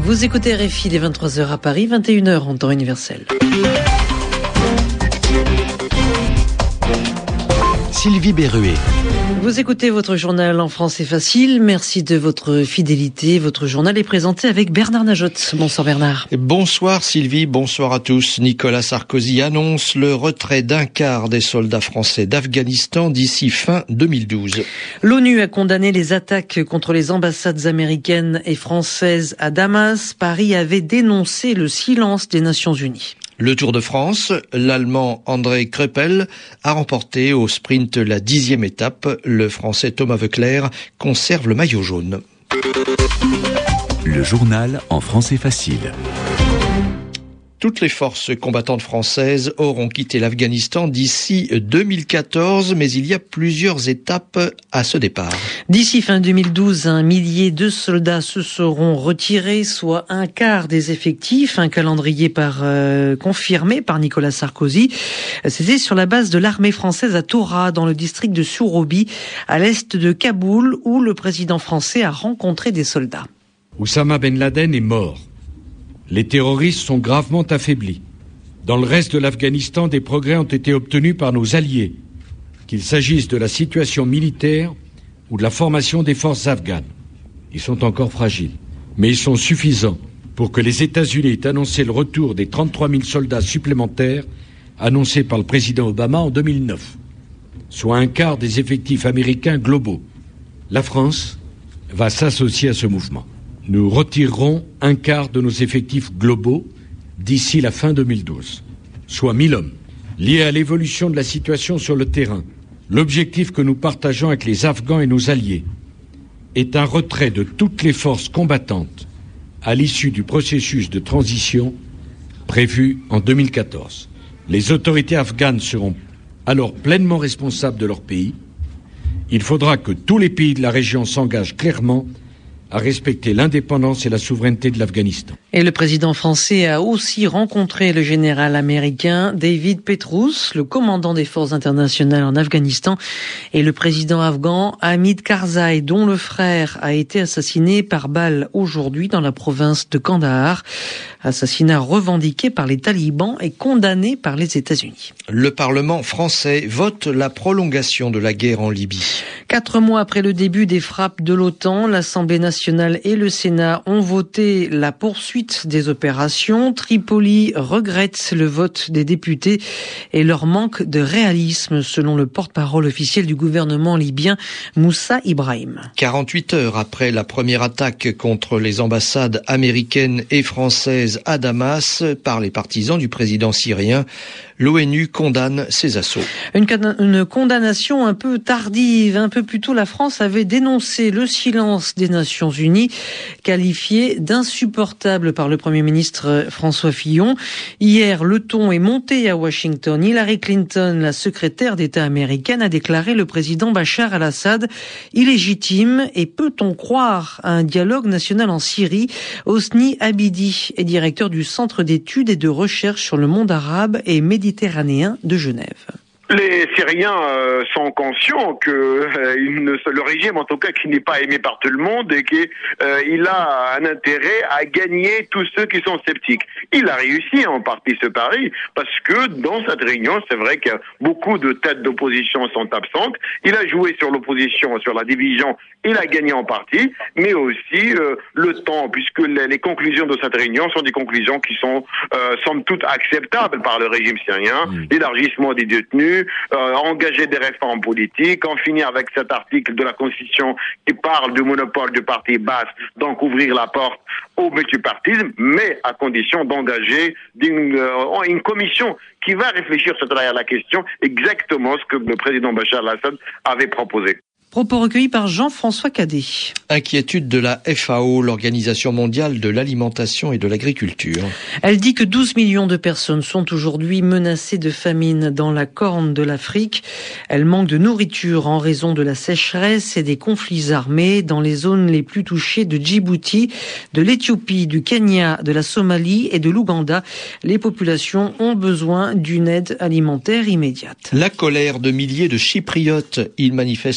Vous écoutez RFI, les 23h à Paris, 21h en temps universel. Sylvie Berruet. Vous écoutez votre journal en français facile. Merci de votre fidélité. Votre journal est présenté avec Bernard Najotte. Bonsoir Bernard. Bonsoir Sylvie, bonsoir à tous. Nicolas Sarkozy annonce le retrait d'un quart des soldats français d'Afghanistan d'ici fin 2012. L'ONU a condamné les attaques contre les ambassades américaines et françaises à Damas. Paris avait dénoncé le silence des Nations Unies. Le Tour de France, l'Allemand André Kreppel a remporté au sprint la 10e étape. Le Français Thomas Voeckler conserve le maillot jaune. Le journal en français facile. Toutes les forces combattantes françaises auront quitté l'Afghanistan d'ici 2014, mais il y a plusieurs étapes à ce départ. D'ici fin 2012, 1 millier de soldats se seront retirés, soit un quart des effectifs, un calendrier confirmé par Nicolas Sarkozy. C'était sur la base de l'armée française à Tora, dans le district de Surobi, à l'est de Kaboul, où le président français a rencontré des soldats. Oussama Ben Laden est mort. Les terroristes sont gravement affaiblis. Dans le reste de l'Afghanistan, des progrès ont été obtenus par nos alliés, qu'il s'agisse de la situation militaire ou de la formation des forces afghanes. Ils sont encore fragiles, mais ils sont suffisants pour que les États-Unis aient annoncé le retour des 33 000 soldats supplémentaires annoncés par le président Obama en 2009, soit un quart des effectifs américains globaux. La France va s'associer à ce mouvement. Nous retirerons un quart de nos effectifs globaux d'ici la fin 2012, soit 1000 hommes. Liés à l'évolution de la situation sur le terrain, l'objectif que nous partageons avec les Afghans et nos alliés est un retrait de toutes les forces combattantes à l'issue du processus de transition prévu en 2014. Les autorités afghanes seront alors pleinement responsables de leur pays. Il faudra que tous les pays de la région s'engagent clairement à respecter l'indépendance et la souveraineté de l'Afghanistan. Et le président français a aussi rencontré le général américain David Petrous, le commandant des forces internationales en Afghanistan, et le président afghan Hamid Karzai, dont le frère a été assassiné par balle aujourd'hui dans la province de Kandahar. Assassinat revendiqué par les talibans et condamné par les États-Unis. Le Parlement français vote la prolongation de la guerre en Libye. 4 mois après le début des frappes de l'OTAN, l'Assemblée nationale et le Sénat ont voté la poursuite des opérations. Tripoli regrette le vote des députés et leur manque de réalisme, selon le porte-parole officiel du gouvernement libyen, Moussa Ibrahim. 48 heures après la première attaque contre les ambassades américaines et françaises à Damas par les partisans du président syrien, l'ONU condamne ces assauts. Une condamnation un peu tardive. Un peu plus tôt, la France avait dénoncé le silence des Nations Unies, qualifié d'insupportable par le Premier ministre François Fillon. Hier, le ton est monté à Washington. Hillary Clinton, la secrétaire d'État américaine, a déclaré le président Bachar al-Assad illégitime. Et peut-on croire à un dialogue national en Syrie? Hosni Abidi est directeur du Centre d'études et de recherche sur le monde arabe et méditerranéen de Genève. Les Syriens sont conscients que le régime, en tout cas, qui n'est pas aimé par tout le monde et qu'il a un intérêt à gagner tous ceux qui sont sceptiques. Il a réussi en partie ce pari parce que dans cette réunion, c'est vrai que beaucoup de têtes d'opposition sont absentes. Il a joué sur l'opposition, sur la division. Il a gagné en partie, mais aussi le temps, puisque les conclusions de cette réunion sont des conclusions qui sont somme toute acceptables par le régime syrien. L'élargissement des détenus, engager des réformes politiques, en finir avec cet article de la Constitution qui parle du monopole du parti Baas, donc ouvrir la porte au multipartisme, mais à condition d'engager une commission qui va réfléchir sur la question, exactement ce que le président Bachar al-Assad avait proposé. Propos recueillis par Jean-François Cadet. Inquiétude de la FAO, l'Organisation mondiale de l'alimentation et de l'agriculture. Elle dit que 12 millions de personnes sont aujourd'hui menacées de famine dans la corne de l'Afrique. Elle manque de nourriture en raison de la sécheresse et des conflits armés dans les zones les plus touchées de Djibouti, de l'Éthiopie, du Kenya, de la Somalie et de l'Ouganda. Les populations ont besoin d'une aide alimentaire immédiate. La colère de milliers de Chypriotes. Ils manifestent ce soir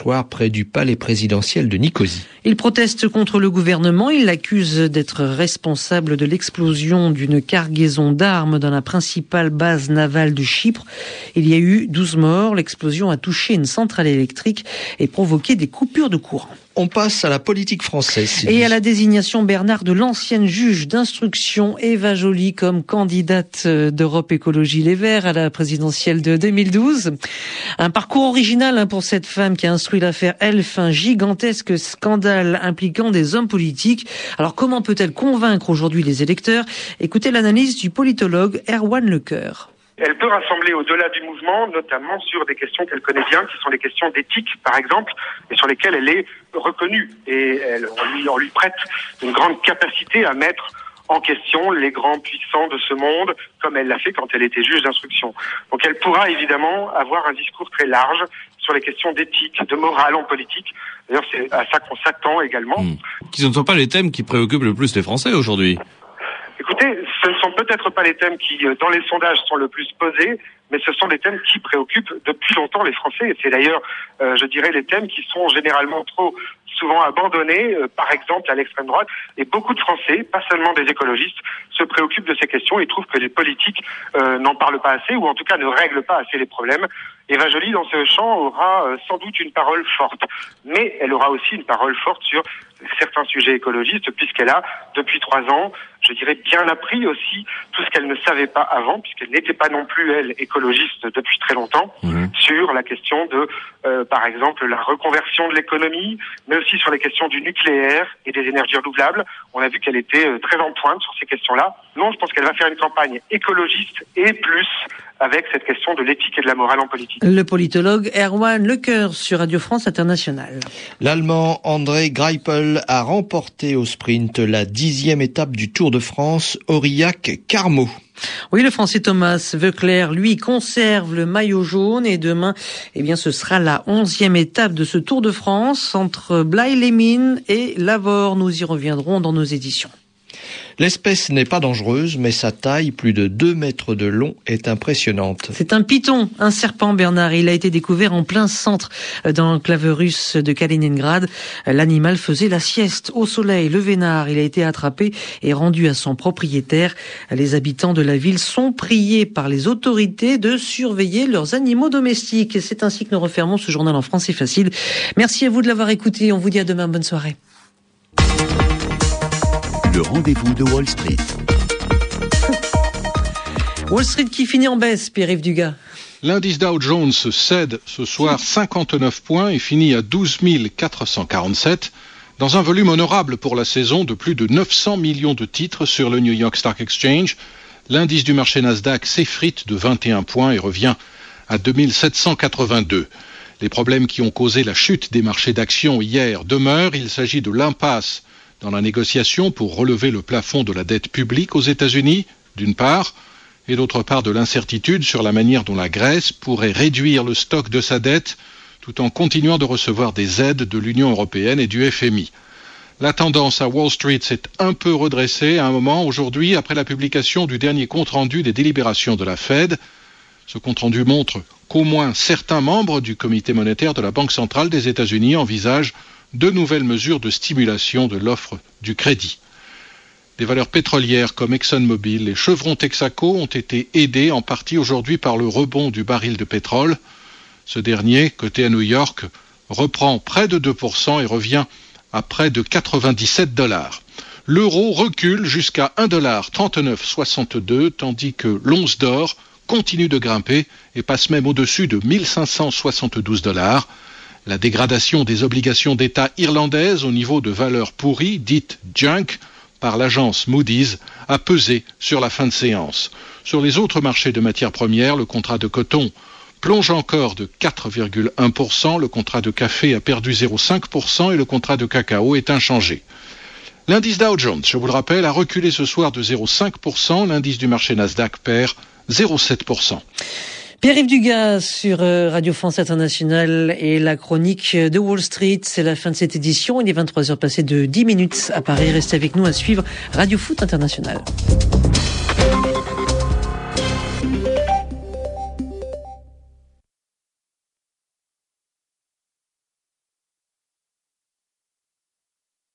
soir près du palais présidentiel de Nicosie. Il proteste contre le gouvernement. Il l'accuse d'être responsable de l'explosion d'une cargaison d'armes dans la principale base navale de Chypre. Il y a eu 12 morts. L'explosion a touché une centrale électrique et provoqué des coupures de courant. On passe à la politique française. Et à la désignation, Bernard, de l'ancienne juge d'instruction Eva Joly comme candidate d'Europe Écologie Les Verts à la présidentielle de 2012. Un parcours original pour cette femme qui a instruit l'affaire Elf, un gigantesque scandale impliquant des hommes politiques. Alors comment peut-elle convaincre aujourd'hui les électeurs ? Écoutez l'analyse du politologue Erwan Lecoeur. Elle peut rassembler au-delà du mouvement, notamment sur des questions qu'elle connaît bien, qui sont les questions d'éthique, par exemple, et sur lesquelles elle est reconnue. Et on lui prête une grande capacité à mettre en question les grands puissants de ce monde, comme elle l'a fait quand elle était juge d'instruction. Donc elle pourra évidemment avoir un discours très large sur les questions d'éthique, de morale en politique. D'ailleurs, c'est à ça qu'on s'attend également. Ce ne sont pas les thèmes qui préoccupent le plus les Français aujourd'hui. Écoutez, ce ne sont peut-être pas les thèmes qui, dans les sondages, sont le plus posés, mais ce sont des thèmes qui préoccupent depuis longtemps les Français. Et c'est d'ailleurs, je dirais, les thèmes qui sont généralement trop souvent abandonnés, par exemple à l'extrême droite. Et beaucoup de Français, pas seulement des écologistes, se préoccupent de ces questions et trouvent que les politiques n'en parlent pas assez, ou en tout cas ne règlent pas assez les problèmes. Eva Joly, dans ce champ, aura sans doute une parole forte. Mais elle aura aussi une parole forte sur certains sujets écologistes, puisqu'elle a, depuis 3 ans, je dirais, bien appris aussi tout ce qu'elle ne savait pas avant, puisqu'elle n'était pas non plus, elle, écologiste depuis très longtemps, sur la question de, par exemple, la reconversion de l'économie, mais aussi sur les questions du nucléaire et des énergies renouvelables. On a vu qu'elle était très en pointe sur ces questions-là. Non, je pense qu'elle va faire une campagne écologiste et plus avec cette question de l'éthique et de la morale en politique. Le politologue Erwan Lecoeur sur Radio France Internationale. L'Allemand André Greipel a remporté au sprint la 10e étape du Tour de France, Aurillac-Carmaux. Oui, le Français Thomas Voeckler, lui, conserve le maillot jaune et demain, ce sera la 11e étape de ce Tour de France entre Blaye-les-Mines et Lavore. Nous y reviendrons dans nos éditions. L'espèce n'est pas dangereuse, mais sa taille, plus de 2 mètres de long, est impressionnante. C'est un python, un serpent, Bernard. Il a été découvert en plein centre dans l'enclave russe de Kaliningrad. L'animal faisait la sieste au soleil. Le vénard, il a été attrapé et rendu à son propriétaire. Les habitants de la ville sont priés par les autorités de surveiller leurs animaux domestiques. Et c'est ainsi que nous refermons ce journal en français facile. Merci à vous de l'avoir écouté. On vous dit à demain. Bonne soirée. Le rendez-vous de Wall Street. Wall Street qui finit en baisse, Pierre-Yves Dugas. L'indice Dow Jones cède ce soir 59 points et finit à 12 447 dans un volume honorable pour la saison de plus de 900 millions de titres sur le New York Stock Exchange. L'indice du marché Nasdaq s'effrite de 21 points et revient à 2782. Les problèmes qui ont causé la chute des marchés d'actions hier demeurent. Il s'agit de l'impasse dans la négociation pour relever le plafond de la dette publique aux États-Unis, d'une part, et d'autre part de l'incertitude sur la manière dont la Grèce pourrait réduire le stock de sa dette tout en continuant de recevoir des aides de l'Union européenne et du FMI. La tendance à Wall Street s'est un peu redressée à un moment aujourd'hui après la publication du dernier compte-rendu des délibérations de la Fed. Ce compte-rendu montre qu'au moins certains membres du comité monétaire de la Banque centrale des États-Unis envisagent de nouvelles mesures de stimulation de l'offre du crédit. Des valeurs pétrolières comme ExxonMobil et Chevron Texaco ont été aidées en partie aujourd'hui par le rebond du baril de pétrole. Ce dernier, coté à New York, reprend près de 2% et revient à près de $97. L'euro recule jusqu'à $1,3962, tandis que l'once d'or continue de grimper et passe même au-dessus de $1,572. La dégradation des obligations d'État irlandaises au niveau de valeurs pourries, dites junk, par l'agence Moody's, a pesé sur la fin de séance. Sur les autres marchés de matières premières, le contrat de coton plonge encore de 4,1%, le contrat de café a perdu 0,5% et le contrat de cacao est inchangé. L'indice Dow Jones, je vous le rappelle, a reculé ce soir de 0,5%, l'indice du marché Nasdaq perd 0,7%. Pierre-Yves Dugas sur Radio France Internationale et la chronique de Wall Street. C'est la fin de cette édition. Il est 23h passées de 10 minutes à Paris. Restez avec nous à suivre Radio Foot International.